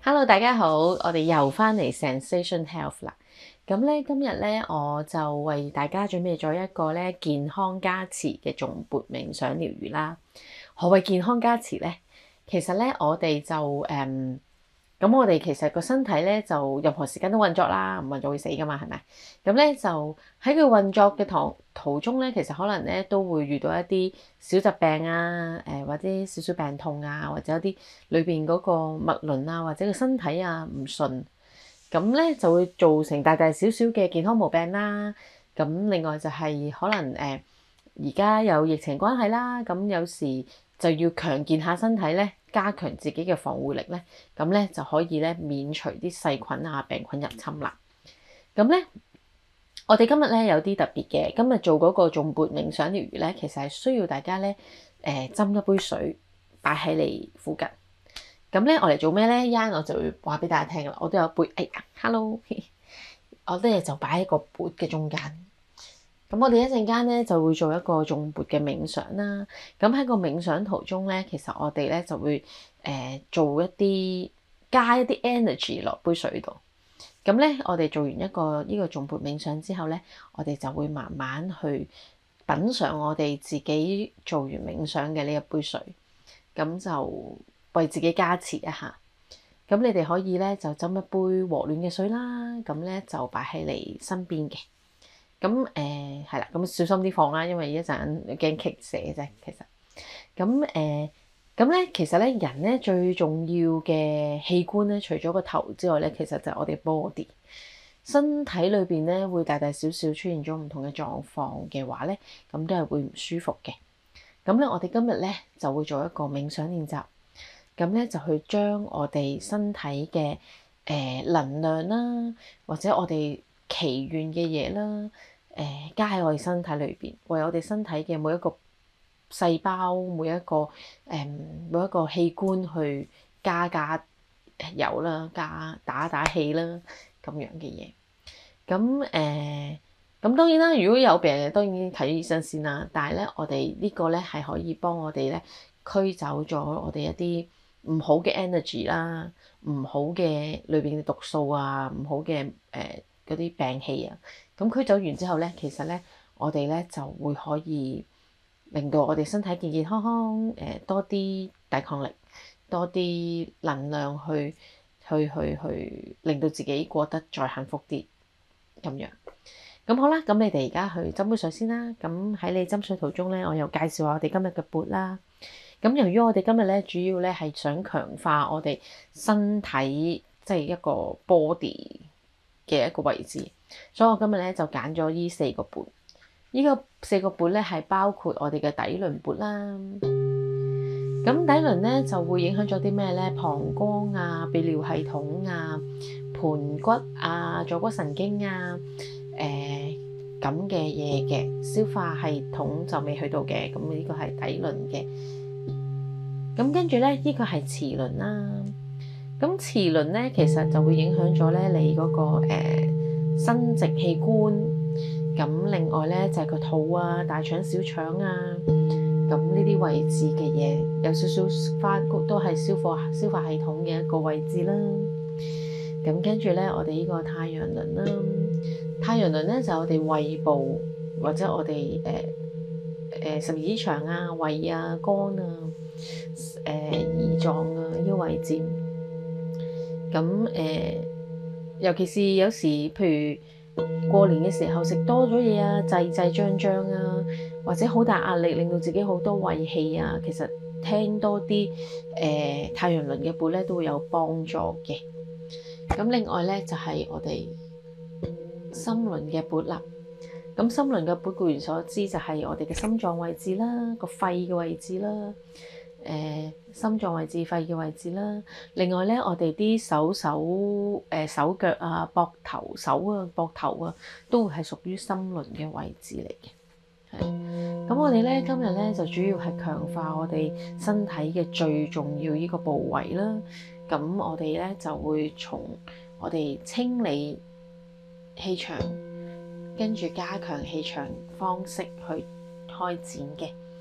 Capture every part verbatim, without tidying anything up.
Hello，大家好，我哋又翻嚟 Zensation Health 啦。咁咧今日咧我就為大家準備咗一個咧健康加持嘅頌缽冥想療癒啦。何謂健康加持咧？其實咧我哋就誒，咁、嗯、我哋其實個身體咧就任何時間都運作啦，唔運作會死噶嘛，係咪？咁咧就喺佢運作嘅途途中咧，其實可能咧都會遇到一啲小疾病啊，誒或者少少病痛啊，或者一啲裏邊嗰個脈輪啊，或者個身體啊唔順，咁咧就會造成大大小小嘅健康毛病啦。咁另外就係可能誒而家有疫情關係啦，咁有時就要強健下身體咧，加強自己嘅防護力咧，咁咧就可以咧免除啲細菌啊病菌入侵啦。咁咧我哋今日咧有啲特別嘅，今日做嗰個頌缽冥想療癒咧，其實係需要大家咧誒斟一杯水擺喺你附近。咁咧我嚟做咩咧？一陣我就會話俾大家聽噶啦。我都有杯，哎呀 ，hello， 我啲嘢就擺喺個缽嘅中間。咁我哋一陣間咧就會做一個頌缽嘅冥想啦。咁喺個冥想途中咧，其實我哋咧就會誒、呃、做一啲加一啲 energy 落杯水度。咁咧我哋做完一個呢個頌缽冥想之後咧，我哋就會慢慢去品嚐我哋自己做完冥想嘅呢一杯水。咁就為自己加持一下。咁你哋可以咧就斟一杯和暖嘅水啦。咁咧就擺喺你身邊嘅。咁誒係啦，咁、呃、小心啲放啦，因為一陣驚棘死啫。其實咁誒咁咧，其實咧人咧最重要嘅器官咧，除咗個頭之外咧，其實就係我哋 body 身體裏邊咧，會大大小小出現咗唔同嘅狀況嘅話咧，咁都係會唔舒服嘅。咁咧，我哋今日咧就會做一個冥想練習，咁咧就去將我哋身體嘅誒、呃、能量啦，或者我哋祈願嘅嘢啦，誒、呃、加喺我哋身體裏邊，為我哋身體嘅每一個細胞、每一個誒、呃、每一個器官去加加油啦，加打打氣啦，咁樣嘅嘢。咁誒，咁、呃、當然啦，如果有病嘅，當然睇醫生先啦。但係咧，我哋呢個咧係可以幫我哋咧驅走咗我哋一啲唔好嘅 energy 啦，唔好嘅裏邊嘅毒素啊，唔好嘅誒嗰啲病氣啊。咁驅走完之後咧，其實咧我哋咧就會可以令到我哋身體健健康康，誒、呃、多啲抵抗力，多啲能量去去去去令到自己過得再幸福啲。咁樣，咁好啦，咁你哋而家去斟杯水先啦。咁喺你斟水途中咧，我又介紹下我哋今日嘅缽啦。咁由於我哋今日咧主要咧係想強化我哋身體，即係一個 body 嘅一個位置，所以我今日咧就揀咗呢四個缽。呢個四個缽咧係包括我哋嘅底輪缽啦。咁底輪咧就會影響咗啲咩咧？膀胱啊、泌尿系統啊、盤骨啊、坐骨神經啊，誒咁嘅嘢嘅。消化系統就未去到嘅，咁呢個係底輪嘅。咁跟住咧，呢個係臍輪啦。咁臍輪咧，其實就會影響咗咧你嗰個誒生殖器官。咁另外咧就係個肚啊、大腸、小腸啊。咁呢啲位置嘅嘢有少少花都係消化消化系統嘅一個位置啦。咁跟住咧，我哋呢個太陽輪啦，太陽輪咧就係我哋胃部或者我哋誒誒十二指腸啊、胃啊、肝啊、誒、呃、胰臟啊呢個位置。咁誒、呃，尤其是有時譬如過年嘅時候食多咗嘢啊，滯滯脹脹啊，或者好大壓力，令到自己好多胃氣啊，其實聽多啲誒、呃、太陽輪嘅缽咧都會有幫助嘅。咁另外咧就係、是、我哋心輪嘅缽啦。咁心輪嘅缽顧名所知就係我哋嘅心臟位置啦，個肺嘅位置啦。誒、呃、心臟位置、肺嘅位置啦。另外咧，我哋啲手手誒、呃、手腳啊、膊頭手啊、膊頭啊，都會係屬於心輪嘅位置嚟嘅。係咁，我哋咧今日咧就主要係強化我哋身體嘅最重要呢個部位啦。咁我哋咧就會從我哋清理氣場，跟住加強氣場方式去開展嘅。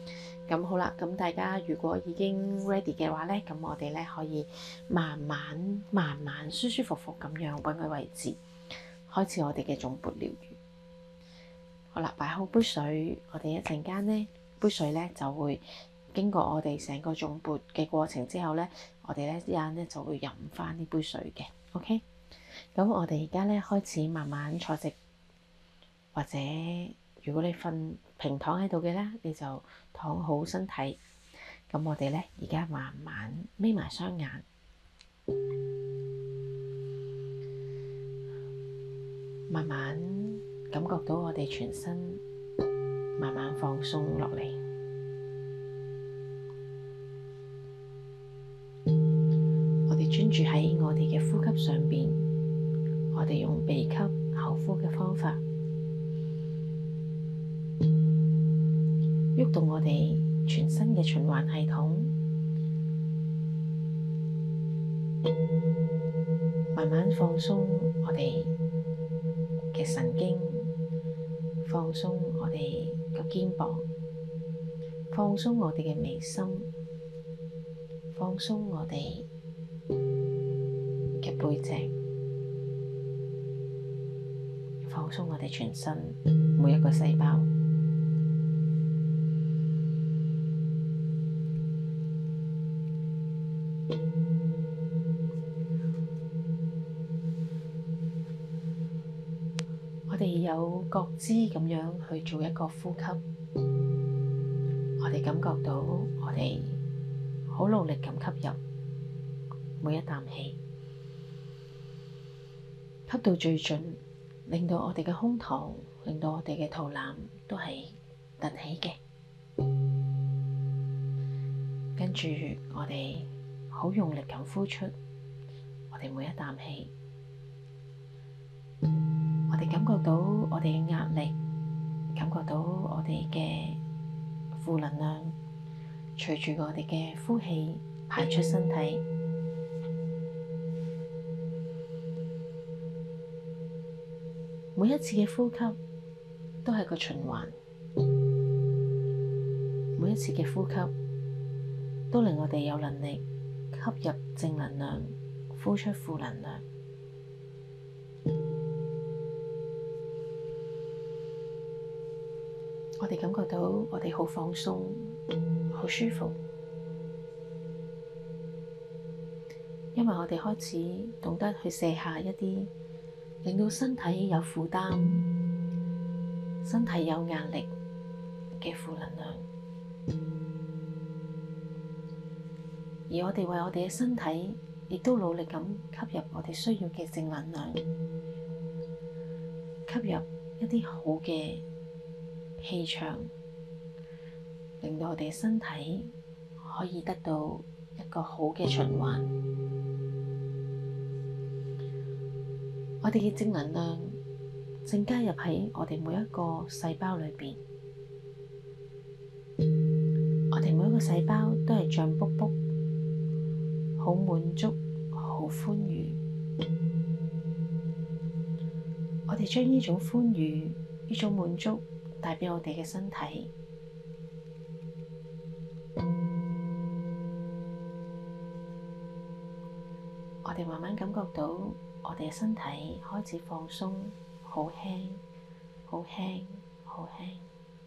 咁好啦，咁大家如果已經 ready 嘅話咧，咁我哋咧可以慢慢、慢慢、舒舒服服咁樣揾個位置，開始我哋嘅頌缽療癒。好啦，擺好杯水，我哋一陣間咧，杯水咧就會經過我哋成個頌缽嘅過程之後咧，我哋咧一陣咧就會飲翻呢杯水嘅。OK，咁我哋而家咧開始慢慢坐直，或者如果你瞓平躺喺度嘅咧，你就躺好身體。咁我哋咧而家慢慢眯埋雙眼，慢慢感覺到我哋全身慢慢放鬆落嚟。我哋專注喺我哋嘅呼吸上邊，我哋用鼻吸口呼嘅方法，喐動我哋全身嘅循環系統，慢慢放鬆我哋嘅神經，放鬆我哋個肩膀，放鬆我哋嘅眉心，放鬆我哋嘅背脊，放鬆我哋全身每一個細胞。我哋有覺知咁樣去做一個呼吸，我哋感覺到我哋好努力咁吸入每一啖氣，吸到最盡，令到我哋嘅胸膛，令到我哋嘅肚腩都係凸起嘅。跟住我哋好用力咁呼出我哋每一啖氣。我哋感覺到我哋嘅壓力，感覺到我哋嘅負能量，隨住我哋嘅呼氣排出身體。每一次嘅呼吸都係個循環，每一次嘅呼吸都令我哋有能力吸入正能量，呼出負能量。我哋感覺到我哋好放鬆，好舒服，因為我哋開始懂得去卸下一啲令到身體有負擔、身體有壓力嘅負能量，而我哋為我哋嘅身體亦都努力咁吸入我哋需要嘅正能量，吸入一啲好嘅氣場，令到我哋身體可以得到一個好嘅循環。我哋嘅正能量正加入喺我哋每一個細胞裏邊，我哋每一個細胞都係脹卜卜，好滿足，好歡愉。我哋將呢種歡愉、呢種滿足帶畀我哋嘅身體，我哋慢慢感覺到我哋嘅身體開始放鬆，好輕，好輕，好輕。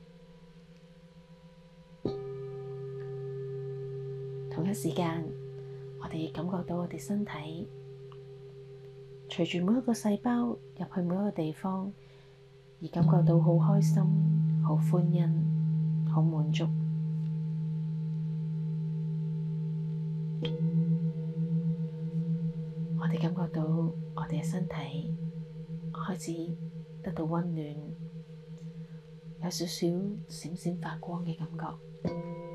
同一時間，我哋感覺到我哋身體隨住每一個細胞入去每一個地方，而感覺到好開心、好歡欣、好滿足。我哋感覺到我哋嘅身體開始得到溫暖，有少少閃閃發光嘅感覺。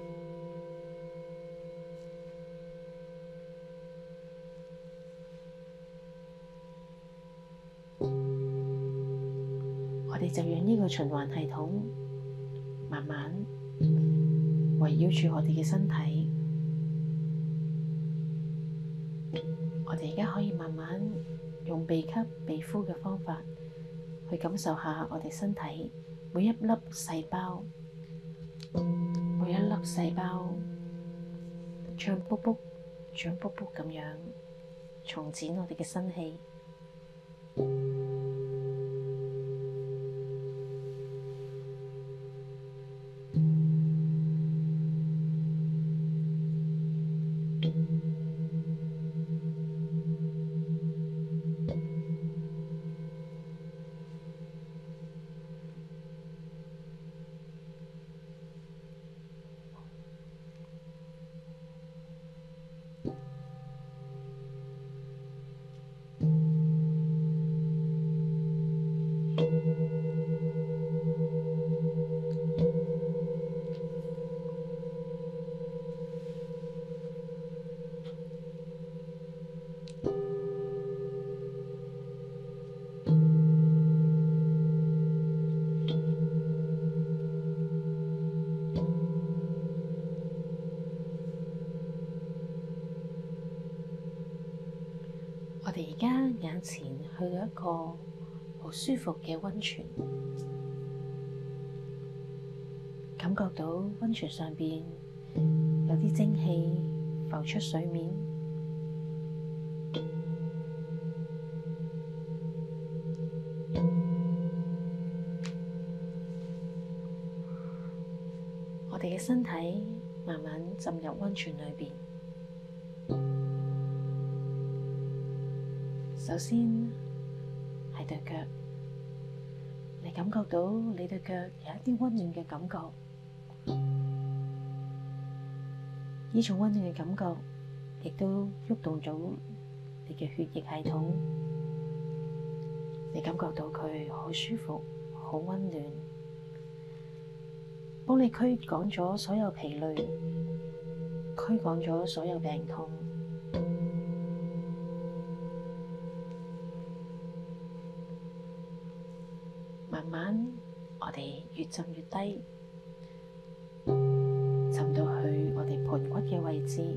我哋就讓呢個循環系統慢慢圍繞住我哋嘅身體。我哋而家可以慢慢用鼻吸鼻呼嘅方法去感受下我哋身體每一粒細胞每一粒細胞脹卜卜、脹卜卜咁樣重展我哋嘅身氣。我哋而家眼前去到一個好舒服嘅溫泉，感覺到溫泉上邊有啲蒸汽浮出水面，我哋嘅身體慢慢浸入溫泉裏邊。首先係對腳，你感覺到你對腳有一啲溫暖嘅感覺，呢種溫暖嘅感覺亦都喐動咗你嘅血液系統，你感覺到佢好舒服、好溫暖，幫你驅趕咗所有疲累，驅趕咗所有病痛。慢慢，我哋越浸越低，浸到去我哋盆骨嘅位置。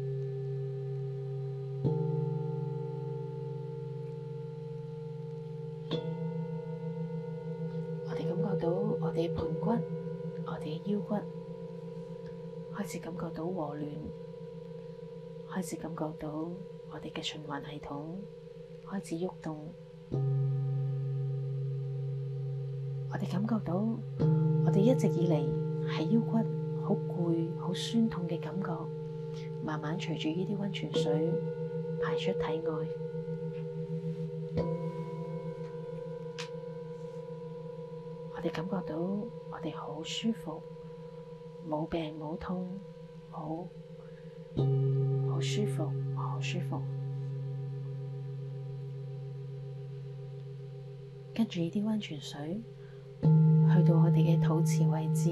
我哋感覺到我哋盆骨、我哋嘅腰骨開始感覺到和暖，開始感覺到我哋嘅循環系統開始喐動。我哋感覺到，我哋一直以嚟喺腰骨好攰、好酸痛嘅感覺，慢慢隨住呢啲溫泉水排出體外。我哋感覺到我哋好舒服，冇病冇痛，好好舒服，好舒服。跟住呢啲溫泉水，去到我哋嘅肚臍位置，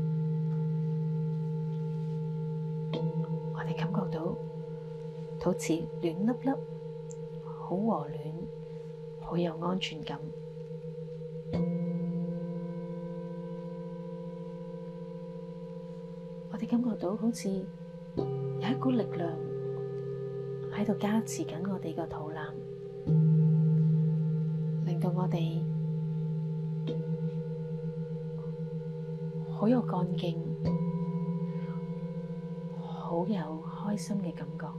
我哋感覺到肚臍暖粒粒，好和暖，好有安全感。我哋感覺到好似有一股力量喺度加持緊我哋個肚腩，令到我哋好有幹勁，好有開心嘅感覺。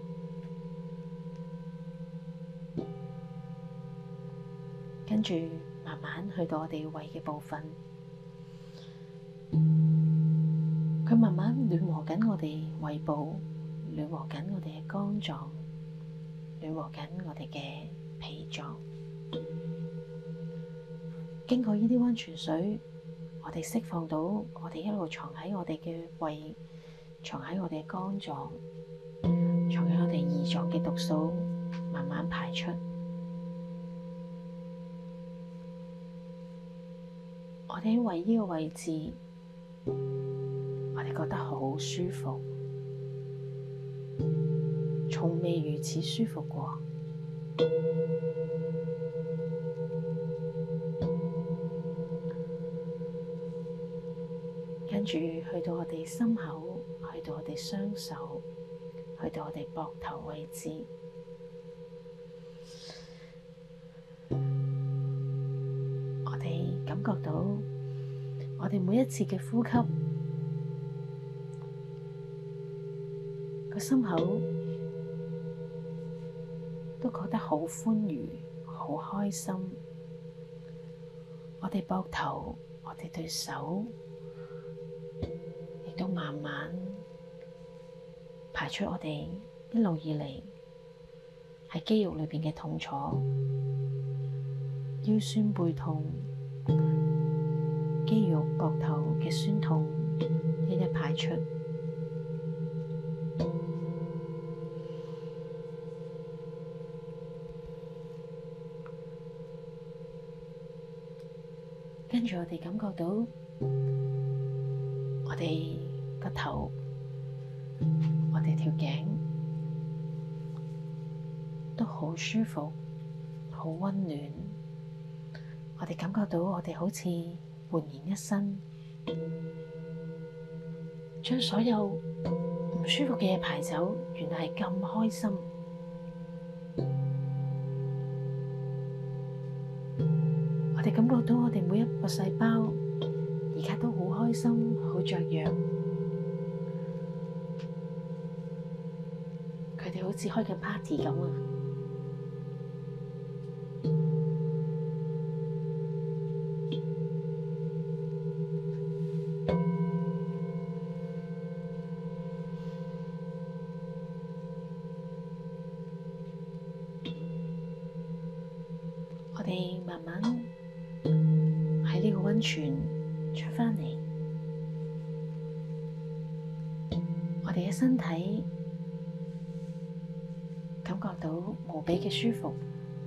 跟住慢慢去到我哋胃嘅部分，佢慢慢暖和緊我哋胃部，暖和緊我哋嘅肝臟，暖和緊我哋嘅脾臟。經過呢啲溫泉水，我哋釋放到我哋一路藏喺我哋嘅胃，藏喺我哋嘅肝臟，藏喺我哋胰臟嘅毒素，慢慢排出。我哋喺胃呢個位置，我哋覺得好舒服，從未如此舒服過。跟住去到我哋心口，去到我哋雙手，去到我哋膊頭位置，我哋感覺到我哋每一次嘅呼吸心口都覺得好歡愉、好開心。我哋膊頭、我哋對手亦都慢慢排出我哋一路以嚟喺肌肉裏邊嘅痛楚、腰酸背痛、肌肉膊頭嘅酸痛，一一排出。跟住我哋感覺到我哋個頭、我哋條頸都好舒服、好溫暖。我哋感覺到我哋好似煥然一新，將所有唔舒服嘅嘢排走，原來係咁開心。我哋感覺到我哋每一個細胞而家都好開心、好雀躍，佢哋好似開緊 party 咁啊！我哋慢慢喺呢個溫泉出返嚟，我哋嘅身體感覺到無比嘅舒服，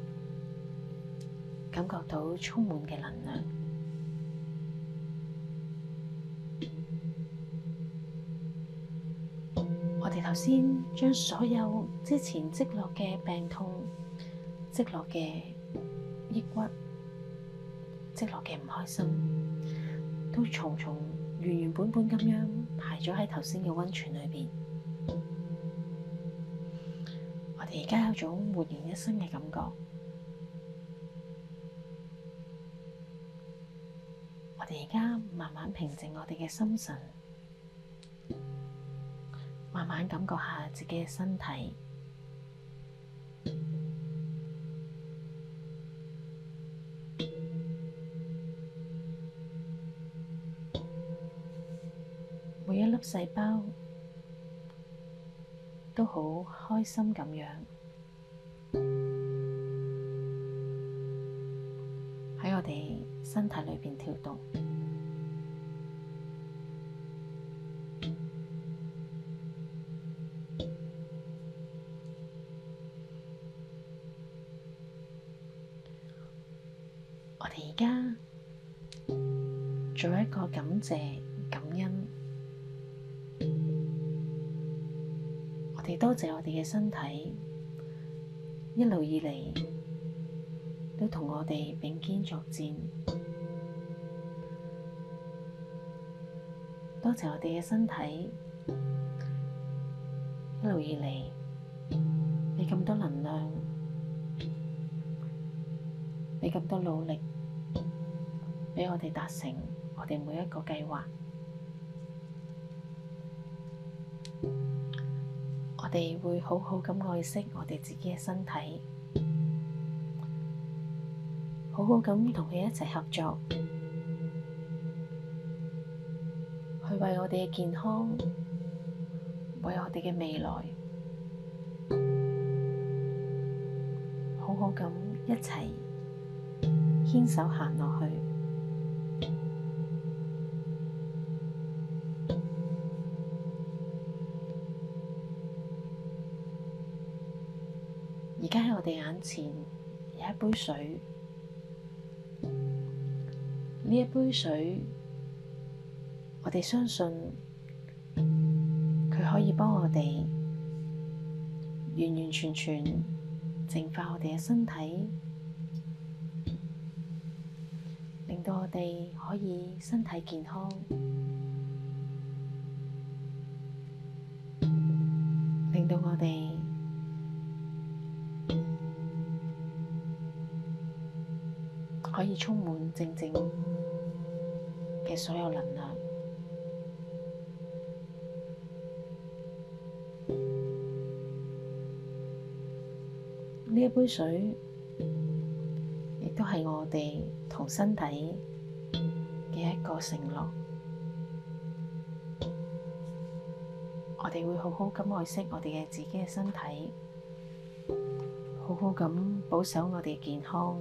感覺到充滿嘅能量。我哋頭先將所有之前積落嘅病痛、積落嘅抑鬱、積落嘅唔開心，都重重原原本本咁樣排咗喺頭先嘅溫泉裏邊。我哋而家有種煥然一新嘅感覺。我哋而家慢慢平靜我哋嘅心神，慢慢感覺下自己嘅身體。每一粒細胞都好開心咁樣喺我哋身體裏邊跳動。我哋而家做一個感謝、感恩。我哋多謝我哋嘅身體一路以嚟都同我哋並肩作戰，多謝我哋嘅身體一路以嚟畀咁多能量，畀咁多努力，畀我哋達成我哋每一個計劃。我哋會好好咁愛惜我哋自己嘅身體，好好咁同佢一齊合作，去為我哋嘅健康，為我哋嘅未來，好好咁一齊牽手行落去。而家喺我哋眼前有一杯水，呢一杯水，我哋相信佢可以幫我哋完完全全淨化我哋嘅身體，令到我哋可以身體健康，令到我哋可以充滿正正嘅所有能量。 呢一杯水亦都係我哋同身體嘅一個承諾。我哋會好好咁愛惜我哋嘅自己嘅身體，好好咁保守我哋嘅健康，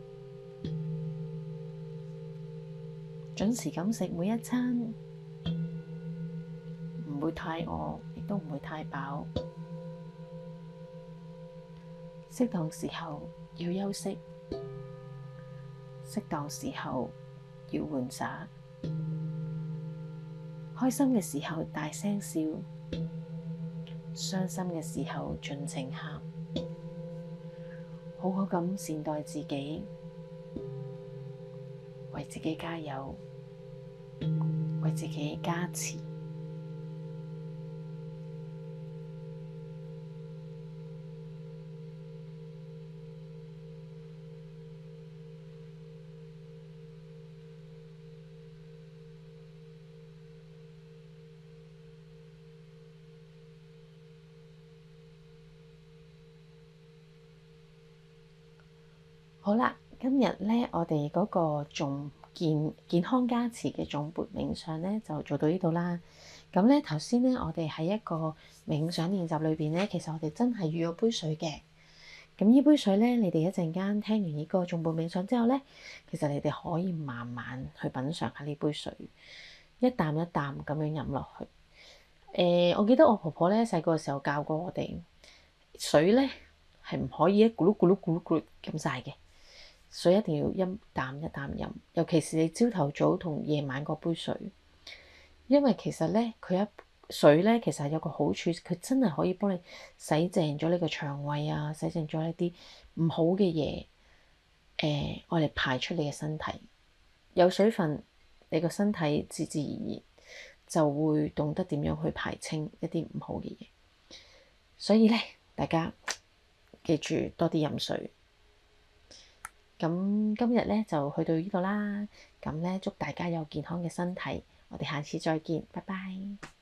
準時咁食每一餐，唔會太餓，亦都唔會太飽。適當時候要休息，適當時候要玩耍，開心嘅時候大聲笑，傷心嘅時候盡情喊，好好咁善待自己，為自己加油，為自己加持。好啦，今日咧我哋嗰個頌健健康加持嘅頌缽冥想咧就做到呢度啦。咁咧頭先咧我哋喺一個冥想練習裏邊咧，其實我哋真係預咗杯水嘅。咁呢杯水咧，你哋一陣間聽完呢個頌缽冥想之後咧，其實你哋可以慢慢去品嚐下呢杯水，一啖一啖咁樣飲落去。誒、呃，我記得我婆婆咧細個嘅時候教過我哋，水咧係唔可以一咕嚕咕嚕咕嚕咕嚕咁晒嘅。水一定要一啖一啖飲，尤其是你朝頭早同夜晚嗰杯水，因為其實咧佢一水咧其實有個好處，佢真係可以幫你洗淨咗你個腸胃啊，洗淨咗一啲唔好嘅嘢，誒我哋排出你嘅身體。有水分，你個身體自自然然就會懂得點樣去排清一啲唔好嘅嘢。所以咧，大家記住多啲飲水。咁今日咧就去到呢度啦，咁咧祝大家有健康嘅身體，我哋下次再見，拜拜。